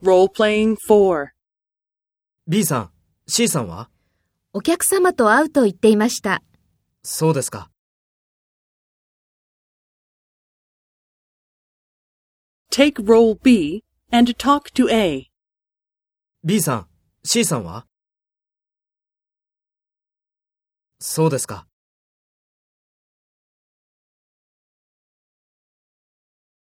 Role-playing 4. B さん、C さんは？ お客様と会うと言っていました。 そうですか。 Take role B and talk to A. B さん、C さんは？そうですか。